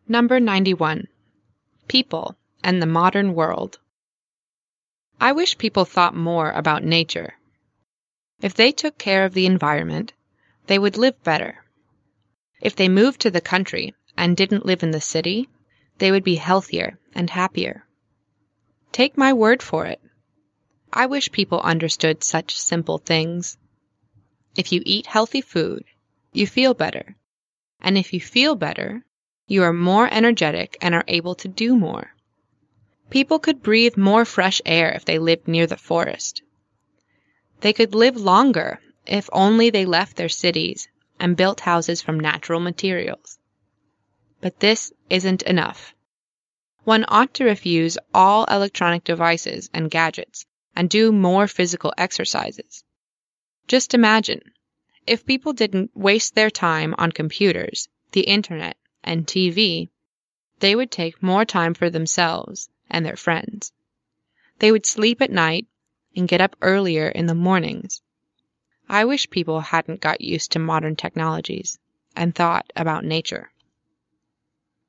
Number 91. People and the Modern World. I wish people thought more about nature. If they took care of the environment, they would live better. If they moved to the country and didn't live in the city, they would be healthier and happier. Take my word for it. I wish people understood such simple things. If you eat healthy food, you feel better. And if you feel better, you are more energetic and are able to do more. People could breathe more fresh air if they lived near the forest. They could live longer if only they left their cities and built houses from natural materials. But this isn't enough. One ought to refuse all electronic devices and gadgets and do more physical exercises. Just imagine, if people didn't waste their time on computers, the internet, and TV, they would take more time for themselves and their friends. They would sleep at night and get up earlier in the mornings. I wish people hadn't got used to modern technologies and thought about nature.